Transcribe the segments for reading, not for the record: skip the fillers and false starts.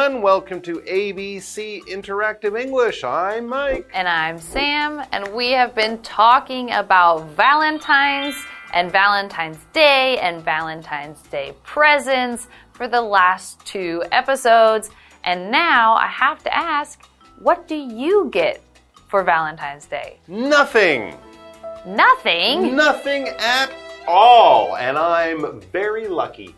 everyone. Welcome to ABC Interactive English. I'm Mike. And I'm Sam, and we have been talking about Valentine's and Valentine's Day and Valentine's Day presents for the last 2 episodes. And now I have to ask, what do you get for Valentine's Day? Nothing. Nothing? Nothing at all. And I'm very lucky.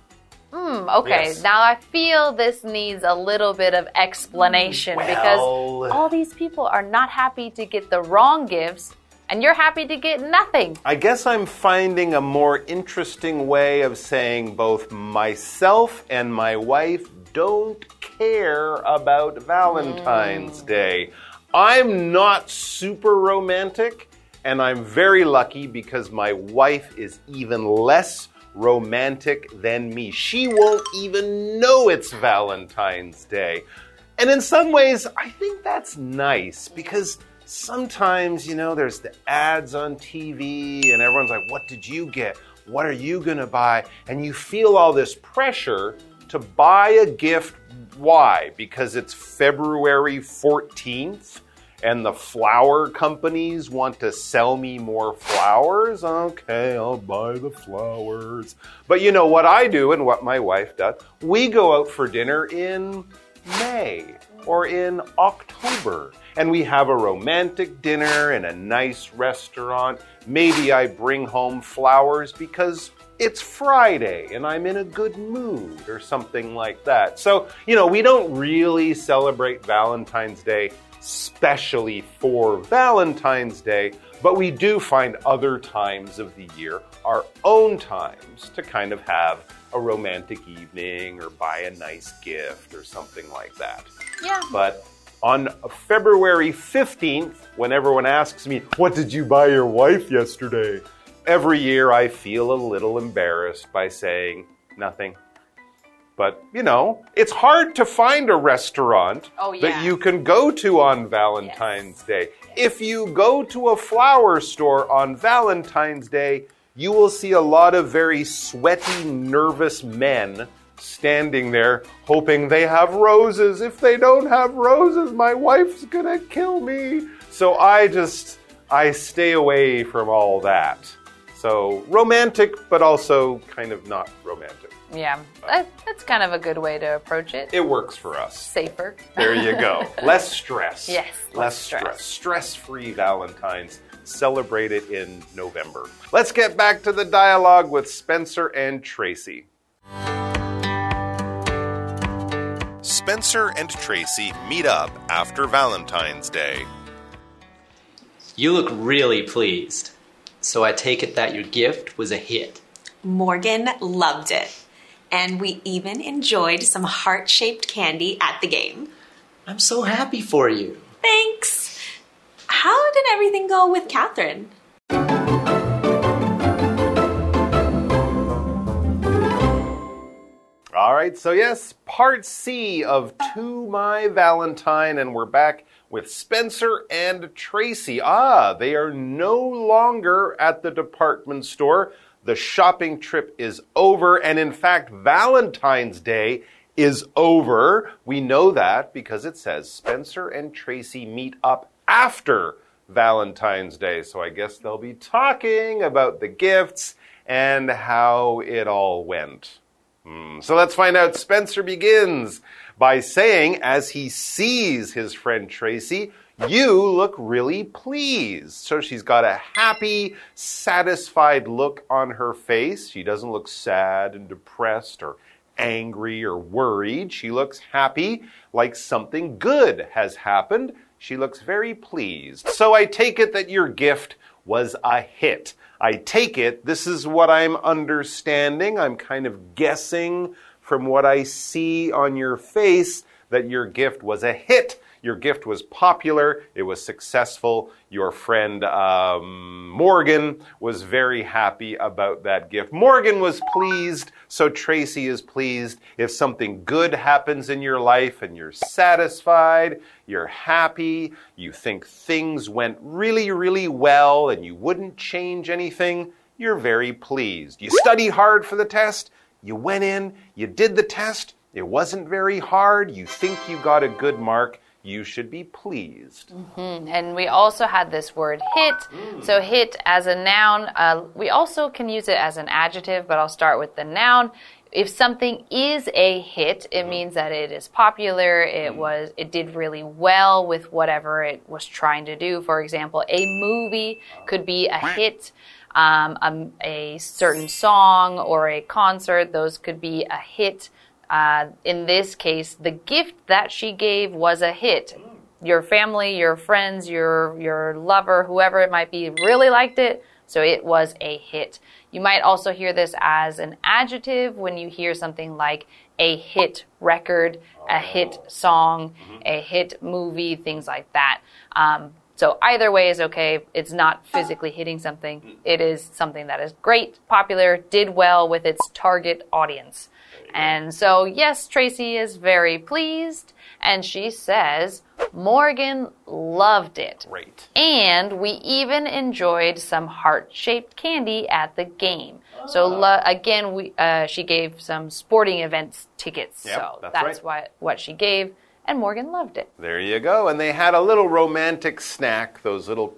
Okay, yes. Now I feel this needs a little bit of explanation because all these people are not happy to get the wrong gifts and you're happy to get nothing. I guess I'm finding a more interesting way of saying both myself and my wife don't care about Valentine's Day. I'm not super romantic, and I'm very lucky because my wife is even less romantic than me. She won't even know it's Valentine's Day. And in some ways, I think that's nice because sometimes, there's the ads on TV and everyone's like, what did you get? What are you going to buy? And you feel all this pressure to buy a gift. Why? Because it's February 14th and the flower companies want to sell me more flowers. Okay, I'll buy the flowers. But you know what I do and what my wife does? We go out for dinner in May or in October. And we have a romantic dinner in a nice restaurant. Maybe I bring home flowers because it's Friday and I'm in a good mood or something like that. So, we don't really celebrate Valentine's Day especially for Valentine's Day, but we do find other times of the year, our own times, to kind of have a romantic evening or buy a nice gift or something like that. Yeah. But on February 15th, when everyone asks me, what did you buy your wife yesterday? Every year I feel a little embarrassed by saying nothing. But, it's hard to find a restaurant that you can go to on Valentine's Day. If you go to a flower store on Valentine's Day, you will see a lot of very sweaty, nervous men standing there hoping they have roses. If they don't have roses, my wife's gonna kill me. So I stay away from all that. So romantic, but also kind of not romantic. Yeah, that's kind of a good way to approach it. It works for us. Safer. There you go. Less stress. Yes, less stress. Stress-free Valentine's. Celebrate it in November. Let's get back to the dialogue with Spencer and Tracy. Spencer and Tracy meet up after Valentine's Day. You look really pleased. So I take it that your gift was a hit. Morgan loved it. And we even enjoyed some heart-shaped candy at the game. I'm so happy for you. Thanks. How did everything go with Catherine? All right, so yes, part C of To My Valentine, and we're back with Spencer and Tracy. They are no longer at the department store. The shopping trip is over, and in fact, Valentine's Day is over. We know that because it says Spencer and Tracy meet up after Valentine's Day. So I guess they'll be talking about the gifts and how it all went. So let's find out. Spencer begins by saying, as he sees his friend Tracy, you look really pleased. So she's got a happy, satisfied look on her face. She doesn't look sad and depressed or angry or worried. She looks happy, like something good has happened. She looks very pleased. So I take it that your gift was a hit. I take it, this is what I'm understanding. I'm kind of guessing from what I see on your face that your gift was a hit. Your gift was popular. It was successful. Your friend Morgan was very happy about that gift. Morgan was pleased, so Tracy is pleased. If something good happens in your life and you're satisfied, you're happy, you think things went really, really well and you wouldn't change anything, you're very pleased. You studied hard for the test. You went in, you did the test, It wasn't very hard. You think you got a good mark. You should be pleased. And we also had this word hit. So hit as a noun. We also can use it as an adjective, but I'll start with the noun. If something is a hit, it means that it is popular. It did really well with whatever it was trying to do. For example, a movie could be a hit. A certain song or a concert, those could be a hit. In this case, the gift that she gave was a hit. Your family, your friends, your lover, whoever it might be, really liked it, so it was a hit. You might also hear this as an adjective when you hear something like a hit record, a hit song, a hit movie, things like that. So either way is okay. It's not physically hitting something. It is something that is great, popular, did well with its target audience. And so, yes, Tracy is very pleased, and she says Morgan loved it. Great. And we even enjoyed some heart-shaped candy at the game. So again, she gave some sporting events tickets. Yep, so that's right. what she gave, and Morgan loved it. There you go. And they had a little romantic snack, those little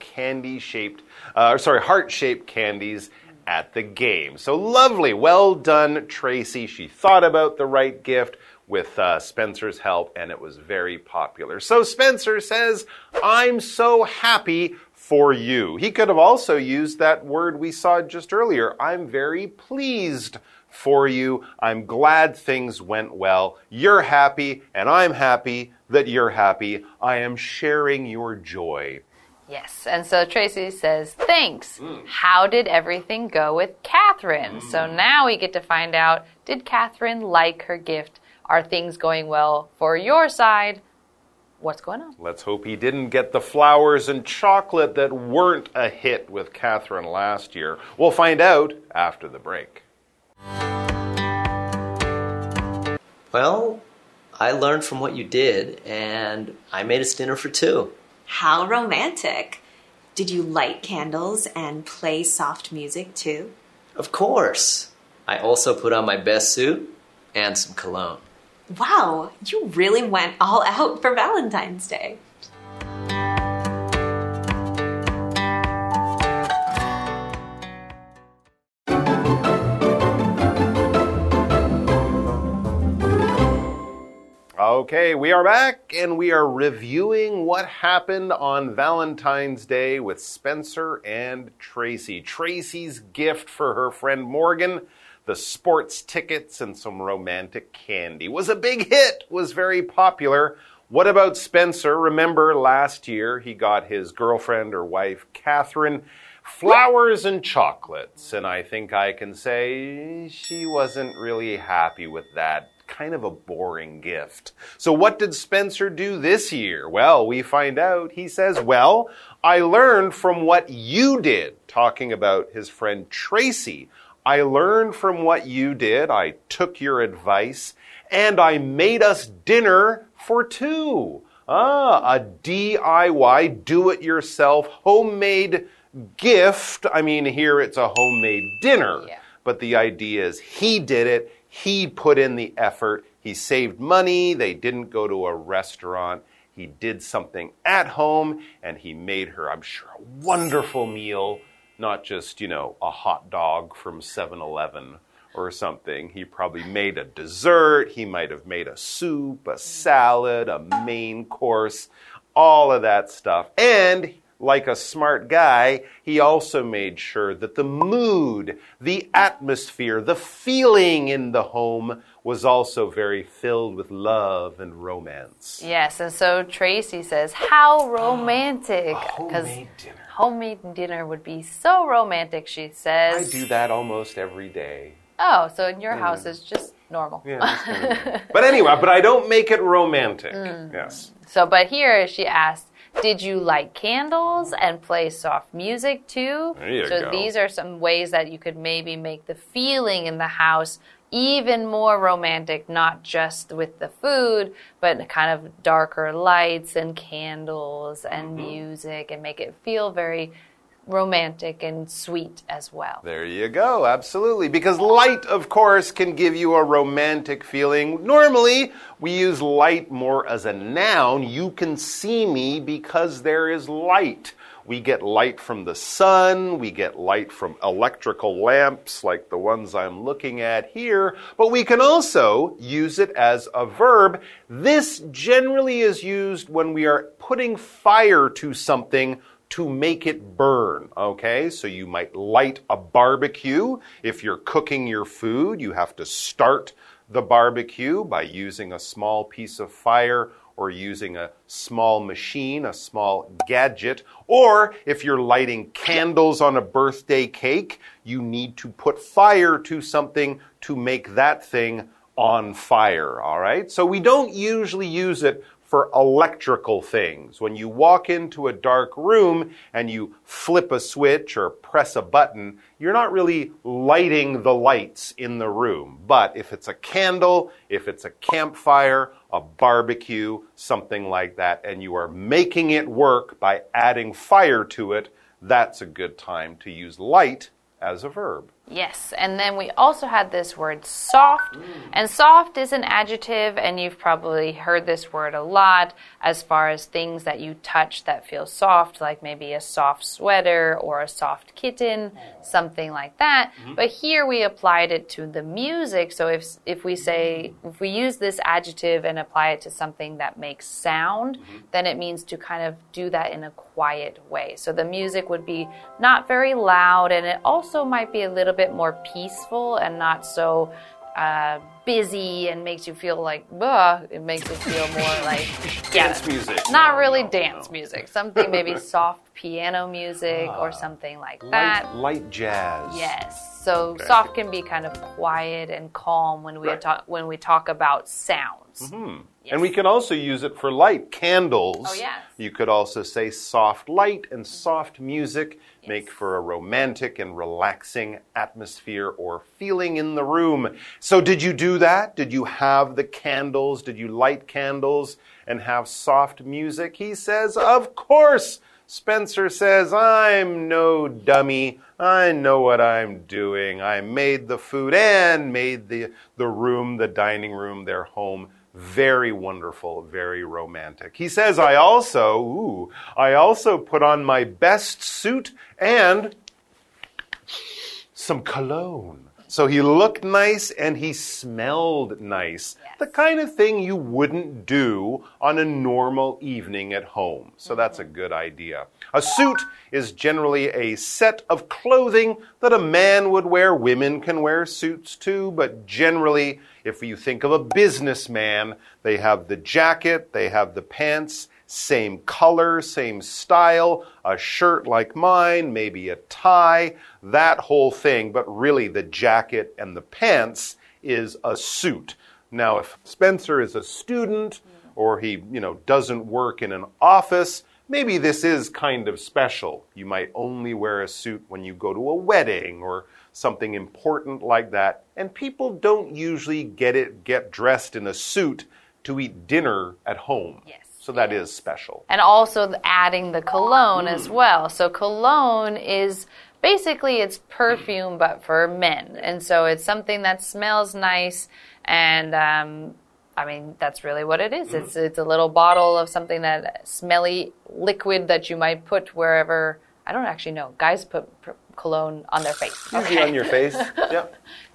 heart-shaped candies at the game. So lovely. Well done, Tracy. She thought about the right gift with Spencer's help, and it was very popular. So Spencer says, I'm so happy for you. He could have also used that word we saw just earlier. I'm very pleased for you. I'm glad things went well. You're happy, and I'm happy that you're happy. I am sharing your joy. Yes, and so Tracy says, thanks. How did everything go with Catherine? So now we get to find out, did Catherine like her gift? Are things going well for your side? What's going on? Let's hope he didn't get the flowers and chocolate that weren't a hit with Catherine last year. We'll find out after the break. Well, I learned from what you did, and I made us dinner for two. How romantic. Did you light candles and play soft music too? Of course. I also put on my best suit and some cologne. Wow, you really went all out for Valentine's Day. Okay, we are back and we are reviewing what happened on Valentine's Day with Spencer and Tracy. Tracy's gift for her friend Morgan, the sports tickets and some romantic candy, was a big hit, was very popular. What about Spencer? Remember last year he got his girlfriend or wife, Catherine, flowers and chocolates. And I think I can say she wasn't really happy with that. Kind of a boring gift. So what did Spencer do this year? Well, we find out. He says, well, I learned from what you did. Talking about his friend Tracy. I learned from what you did. I took your advice and I made us dinner for two. A DIY, do-it-yourself, homemade gift. I mean, here it's a homemade dinner. Yeah. But the idea is he did it. He put in the effort. He saved money. They didn't go to a restaurant. He did something at home, and he made her, I'm sure, a wonderful meal, not just, a hot dog from 7-Eleven or something. He probably made a dessert. He might have made a soup, a salad, a main course, all of that stuff. And like a smart guy, he also made sure that the mood, the atmosphere, the feeling in the home was also very filled with love and romance. Yes, and so Tracy says, how romantic. Homemade dinner. Homemade dinner would be so romantic, she says. I do that almost every day. Oh, so in your house it's just normal. Yeah, that's kind of normal. But anyway, I don't make it romantic. Yes. So, but here she asked, did you light candles and play soft music too? There you so go. These are some ways that you could maybe make the feeling in the house even more romantic, not just with the food, but kind of darker lights and candles and music, and make it feel very romantic and sweet as well. There you go, absolutely. Because light, of course, can give you a romantic feeling. Normally, we use light more as a noun. You can see me because there is light. We get light from the sun, we get light from electrical lamps like the ones I'm looking at here, but we can also use it as a verb. This generally is used when we are putting fire to something to make it burn, okay? So you might light a barbecue. If you're cooking your food, you have to start the barbecue by using a small piece of fire or using a small machine, a small gadget. Or if you're lighting candles on a birthday cake, you need to put fire to something to make that thing on fire, all right? So we don't usually use it for electrical things. When you walk into a dark room and you flip a switch or press a button, you're not really lighting the lights in the room. But if it's a candle, if it's a campfire, a barbecue, something like that, and you are making it work by adding fire to it, that's a good time to use light as a verb. Yes, and then we also had this word soft, and soft is an adjective, and you've probably heard this word a lot as far as things that you touch that feel soft, like maybe a soft sweater or a soft kitten, something like that. But here we applied it to the music, so if we use this adjective and apply it to something that makes sound, then it means to kind of do that in a quiet way. So the music would be not very loud, and it also might be a little bit more peaceful and not so busy and makes you feel like, it makes you feel more like Dance music. Not really dance music. Something maybe soft piano music or something like that. Light jazz. Yes. So soft can be kind of quiet and calm when we talk about sounds. Yes. And we can also use it for light. Candles. Oh, yes. You could also say soft light and soft music make for a romantic and relaxing atmosphere or feeling in the room. So did you do that? Did you have the candles? Did you light candles and have soft music? He says, of course. Spencer says, I'm no dummy. I know what I'm doing. I made the food and made the room, the dining room, their home very wonderful, very romantic. He says, I also put on my best suit and some cologne. So he looked nice and he smelled nice. Yes. The kind of thing you wouldn't do on a normal evening at home. So that's a good idea. A suit is generally a set of clothing that a man would wear. Women can wear suits too, but generally, if you think of a businessman, they have the jacket, they have the pants, same color, same style, a shirt like mine, maybe a tie, that whole thing. But really, the jacket and the pants is a suit. Now, if Spencer is a student or he, doesn't work in an office, maybe this is kind of special. You might only wear a suit when you go to a wedding or something important like that. And people don't usually get dressed in a suit to eat dinner at home. Yes. So that is special. And also adding the cologne as well. So cologne is basically it's perfume but for men. And so it's something that smells nice and that's really what it is. It's a little bottle of something that smelly liquid that you might put wherever. I don't actually know. Guys put cologne on their face. Usually on your face. Yep.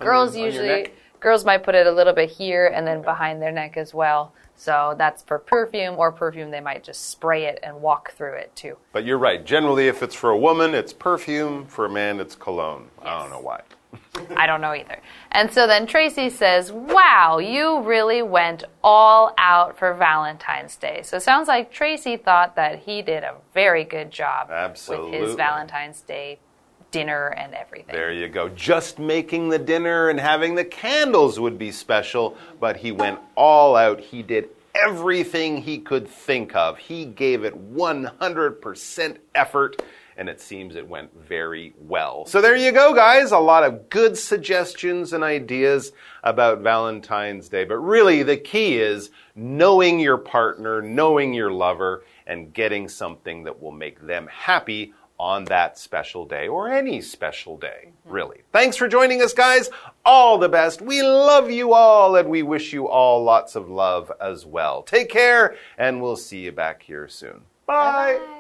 Girls might put it a little bit here and then behind their neck as well. So that's for perfume, or perfume, they might just spray it and walk through it too. But you're right. Generally, if it's for a woman, it's perfume. For a man, it's cologne. Yes. I don't know why. I don't know either. And so then Tracy says, wow, you really went all out for Valentine's Day. So it sounds like Tracy thought that he did a very good job with his Valentine's Day dinner and everything. There you go. Just making the dinner and having the candles would be special, but he went all out. He did everything he could think of. He gave it 100% effort, and it seems it went very well. So there you go, guys. A lot of good suggestions and ideas about Valentine's Day. But really, the key is knowing your partner, knowing your lover, and getting something that will make them happy on that special day or any special day, really. Thanks for joining us, guys. All the best. We love you all, and we wish you all lots of love as well. Take care, and we'll see you back here soon. Bye. Bye.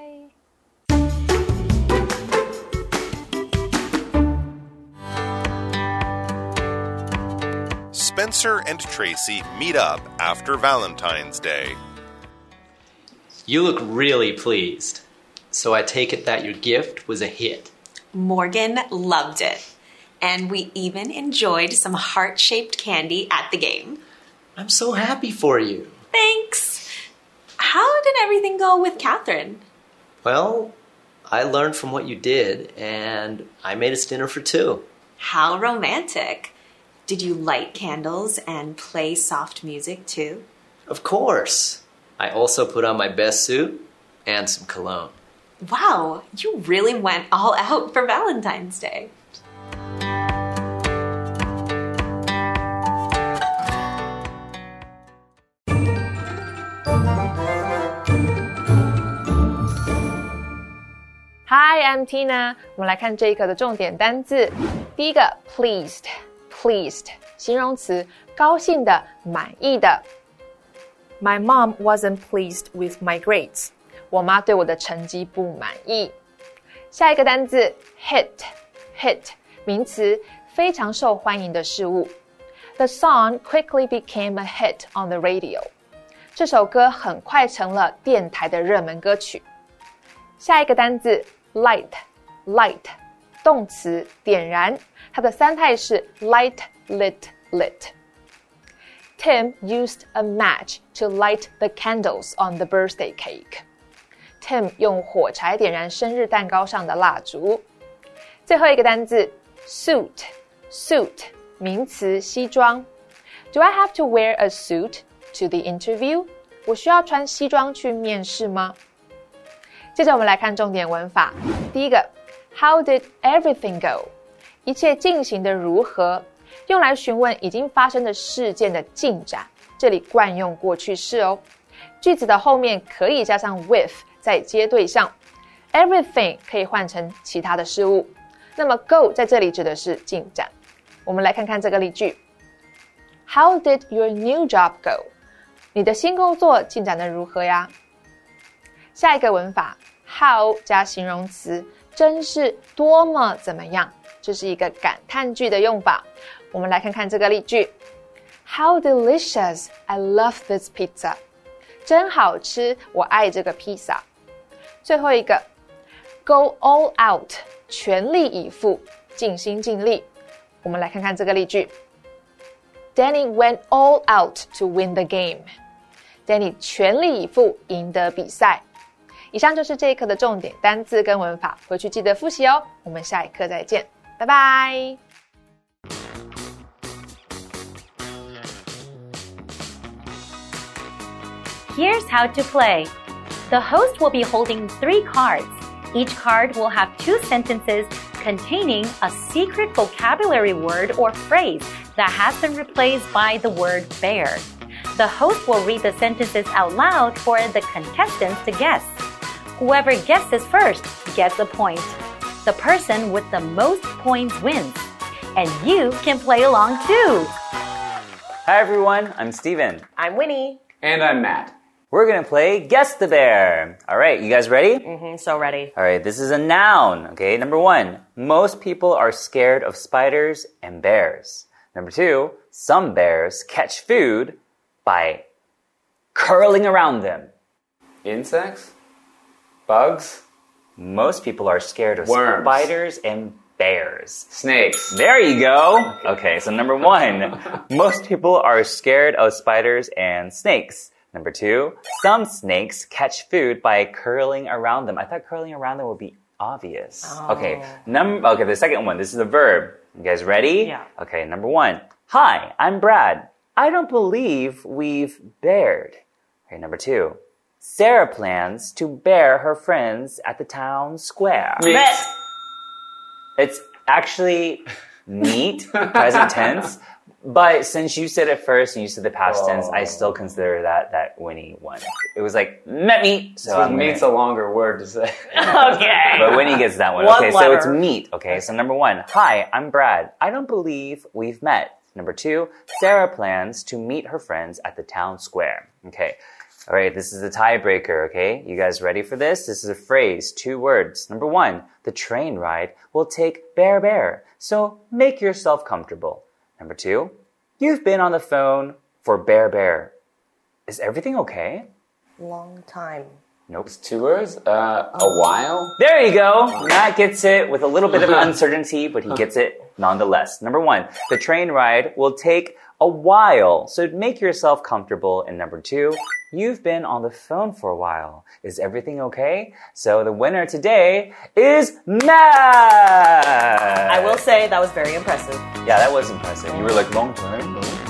Spencer and Tracy meet up after Valentine's Day. You look really pleased. So I take it that your gift was a hit. Morgan loved it. And we even enjoyed some heart-shaped candy at the game. I'm so happy for you. Thanks. How did everything go with Catherine? Well, I learned from what you did, and I made us dinner for two. How romantic. Did you light candles and play soft music too? Of course. I also put on my best suit and some cologne. Wow, you really went all out for Valentine's Day. Hi, I'm Tina. 我们来看这一课的重点单字。第一个 pleased 形容词，高興的，滿意的。My mom wasn't pleased with my grades. 我媽對我的成績不滿意。下一個單字 hit 名詞，非常受歡迎的事物。The song quickly became a hit on the radio. 這首歌很快成了電台的熱門歌曲。下一個單字 light 動詞，點燃，它的三態是 light, lit. Tim used a match to light the candles on the birthday cake. Tim 用火柴點燃生日蛋糕上的蠟燭。最後一個單字 suit 名詞，西裝。Do I have to wear a suit to the interview? 我需要穿西裝去面試嗎？接着我們來看重點文法。第一個 How did everything go? 一切進行的如何？用來詢問已經發生的事件的進展，這裡慣用過去式哦。句子的後面可以加上 with 再接對象。Everything 可以換成其他的事物。那麼 go 在這裡指的是進展。我們來看看這個例句。How did your new job go? 你的新工作進展得如何呀？下一個文法 how 加形容詞，真是多麼怎麼樣，這是一個感嘆句的用法。我們來看看這個例句 How delicious, I love this pizza. 真好吃，我愛這個披薩。最後一個 Go all out, 全力以赴，盡心盡力。我們來看看這個例句 Danny went all out to win the game. Danny 全力以赴贏得比賽。以上就是這一課的重點單字跟文法，回去記得複習哦。我們下一課再見，拜拜。 Here's how to play. The host will be holding 3 cards. Each card will have 2 sentences containing a secret vocabulary word or phrase that has been replaced by the word bear. The host will read the sentences out loud for the contestants to guess. Whoever guesses first gets a point. The person with the most points wins. And you can play along too. Hi everyone, I'm Steven. I'm Winnie. And I'm Matt. We're going to play Guess the Bear. All right, you guys ready? So ready. All right, this is a noun. Okay, number 1, most people are scared of spiders and bears. Number 2, some bears catch food by curling around them. Insects? Bugs? Most people are scared of Worms. spiders and bears. Snakes. There you go. Okay, so number 1, most people are scared of spiders and snakes. Number 2, some snakes catch food by curling around them. I thought curling around them would be obvious. Oh. Okay, the second one, this is a verb. You guys ready? Yeah. Okay, number 1, hi, I'm Brad. I don't believe we've bared. Okay, number 2, Sarah plans to bear her friends at the town square. Meet. It's actually meet, present tense. But since you said it first and you said the past tense, I still consider that Winnie won. It was like, met me. So meat's a longer word to say. Okay. But Winnie gets that one. One Okay, so letter. it's meet. Okay, so number 1, hi, I'm Brad. I don't believe we've met. Number 2, Sarah plans to meet her friends at the town square. Okay. All right, this is the tiebreaker, okay? You guys ready for this? This is a phrase, 2 words. Number 1, the train ride will take Bear. So make yourself comfortable. Number 2, you've been on the phone for Bear. Is everything okay? Long time. Nope. It's 2 words. A while. There you go. Matt gets it with a little bit of uncertainty, but he gets it nonetheless. Number 1, the train ride will take a while. So make yourself comfortable. And number 2, you've been on the phone for a while. Is everything okay? So the winner today is Matt. I will say that was very impressive. Yeah, that was impressive. You were like, long time?